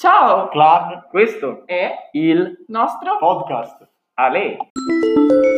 Ciao! Club, Questo è il nostro podcast Ale.